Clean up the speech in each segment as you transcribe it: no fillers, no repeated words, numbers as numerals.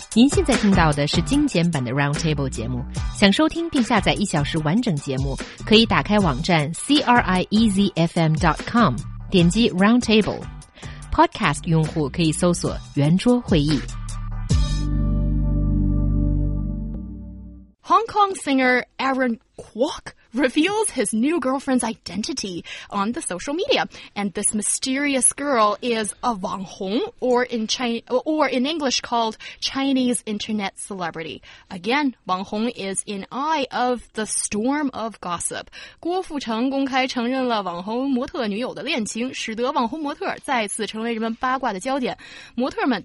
您现在听到的是精简版的 Roundtable 节目。想收听并下载1小时完整节目，可以打开网站 CRIEZFM.com， 点击 Roundtable。Podcast 用户可以搜索圆桌会议。 Hong Kong singer Aaron Kwok reveals his new girlfriend's identity on the social media. And this mysterious girl is a Wang Hong, or in English called Chinese internet celebrity. Again, Wang Hong is in eye of the storm of gossip. 郭富城公开承认了网红模特女友的恋情，使得网红模特再次成为人们八卦的焦点。模特们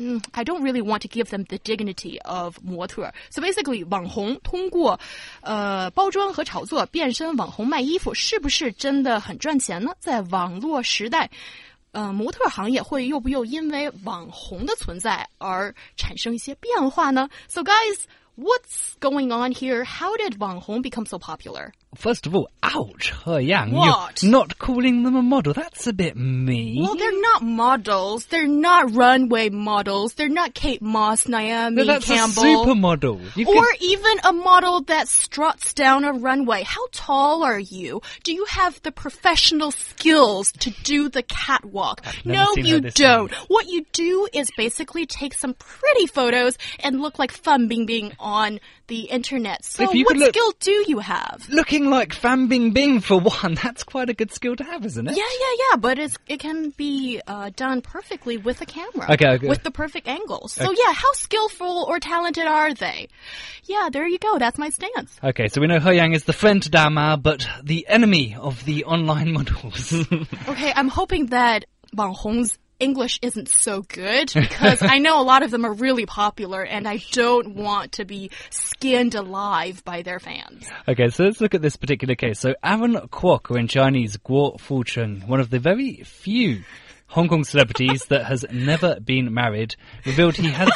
I don't really want to give them the dignity of 模特。So basically, 网红通过包装和炒作变身网红卖衣服，是不是真的很赚钱呢？在网络时代，模特行业会又因为网红的存在而产生一些变化呢？ So guys, what's going on here? How did 网红 become so popular? First of all, ouch, He Yang. What? You're not calling them a model. That's a bit mean. Well, they're not models. They're not runway models. They're not Kate Moss, Naomi that's Campbell. A supermodel. Or even a model that struts down a runway. How tall are you? Do you have the professional skills to do the catwalk? No, you don't. What you do is basically take some pretty photos and look like Fan Bingbing on the internet. So what skill do you have? Looking like Fan Bingbing for one, that's quite a good skill to have, isn't it? Yeah, but it can be done perfectly with a camera. Okay. With the perfect angles. So yeah, how skillful or talented are they? Yeah, there you go. That's my stance. Okay, so we know He Yang is the friend to Dama, but the enemy of the online models. Okay, I'm hoping that Wang Hong's English isn't so good, because I know a lot of them are really popular and I don't want to be skinned alive by their fans. Okay, so let's look at this particular case. So Aaron Kwok, or in Chinese, Guo Fucheng, one of the very few Hong Kong celebrities that has never been married, revealed he has...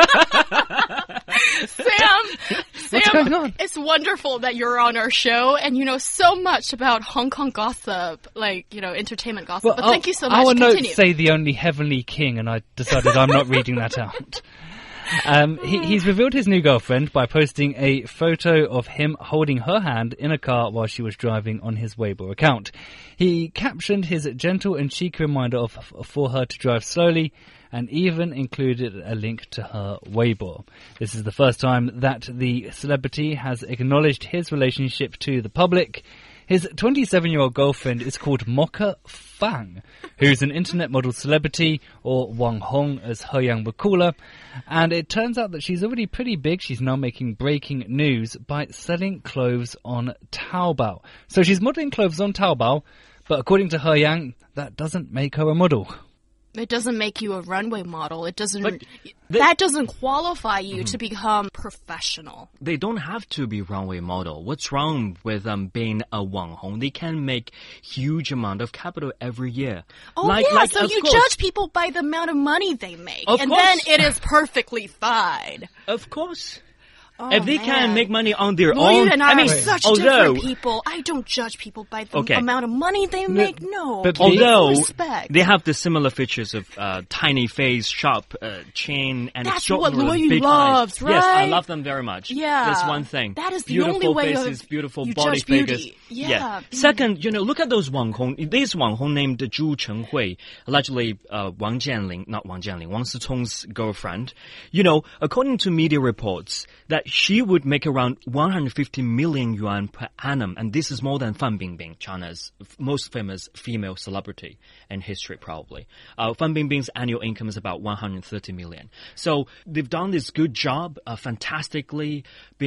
Sam, what's going on? It's wonderful that you're on our show and you know so much about Hong Kong gossip, like, you know, entertainment gossip. But thank you so much. Our Continue. notes say the only heavenly king, and I decided I'm not reading that out. He's revealed his new girlfriend by posting a photo of him holding her hand in a car while she was driving on his Weibo account. He captioned his gentle and cheeky reminder for her to drive slowly, and even included a link to her Weibo. This is the first time that the celebrity has acknowledged his relationship to the public. His 27-year-old girlfriend is called Mocha Fang, who's an internet model celebrity, or Wang Hong as He Yang would call her, and it turns out that she's already pretty big. She's now making breaking news by selling clothes on Taobao. So she's modelling clothes on Taobao, but according to He Yang, that doesn't make her a model. It doesn't make you a runway model. It doesn't. That doesn't qualify you to become professional. They don't have to be runway model. What's wrong with being a Wang Hong? They can make huge amount of capital every year. Oh so you judge people by the amount of money they make, of and course. then it is perfectly fine. Of course. Oh, if they can make money on their Lloyd own, and I are such although, different people. I don't judge people by the amount of money they make. No, but although respect. They have the similar features of tiny face, sharp chin, and that's extraordinary what Lloyd big loves, eyes. right? Yes, I love them very much. Yeah, that's one thing. That is the beautiful only way faces, beautiful you body judge beauty. figures. Yeah. Second, you know, look at those Wang Hong. This Wang Hong named Zhu Chenghui, allegedly Wang Jianling, not Wang Jianling, Wang Sicong's girlfriend. You know, according to media reports, that she would make around 150 million yuan per annum, and this is more than Fan Bingbing, China's most famous female celebrity in history, probably. Fan Bingbing's annual income is about 130 million. So they've done this good job, fantastically,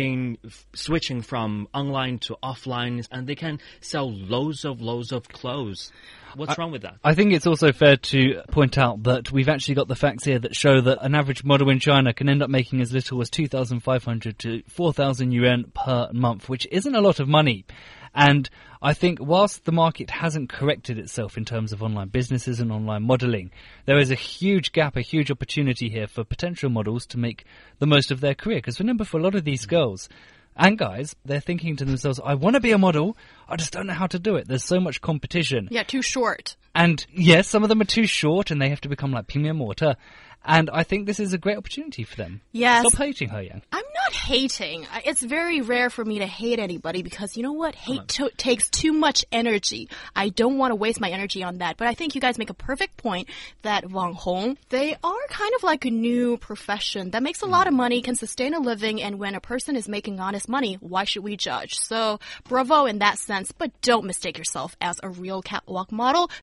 switching from online to offline, and they can sell loads of clothes. What's wrong with that? I think it's also fair to point out that we've actually got the facts here that show that an average model in China can end up making as little as 2,500 to 4,000 yuan per month, which isn't a lot of money. And I think whilst the market hasn't corrected itself in terms of online businesses and online modelling, there is a huge gap, a huge opportunity here for potential models to make the most of their career. Because remember, for a lot of these girls, And guys, they're thinking to themselves, I want to be a model, I just don't know how to do it. There's so much competition. Yeah, too short. And yes, some of them are too short and they have to become like Ping Mortar. And I think this is a great opportunity for them. Yes. Stop hating He Yang. I'm not hating. It's very rare for me to hate anybody because you know what? Hate takes too much energy. I don't want to waste my energy on that. But I think you guys make a perfect point that Wang Hong, they are kind of like a new profession that makes a lot of money, can sustain a living, and when a person is making honest money, why should we judge? So bravo in that sense, but don't mistake yourself as a real catwalk model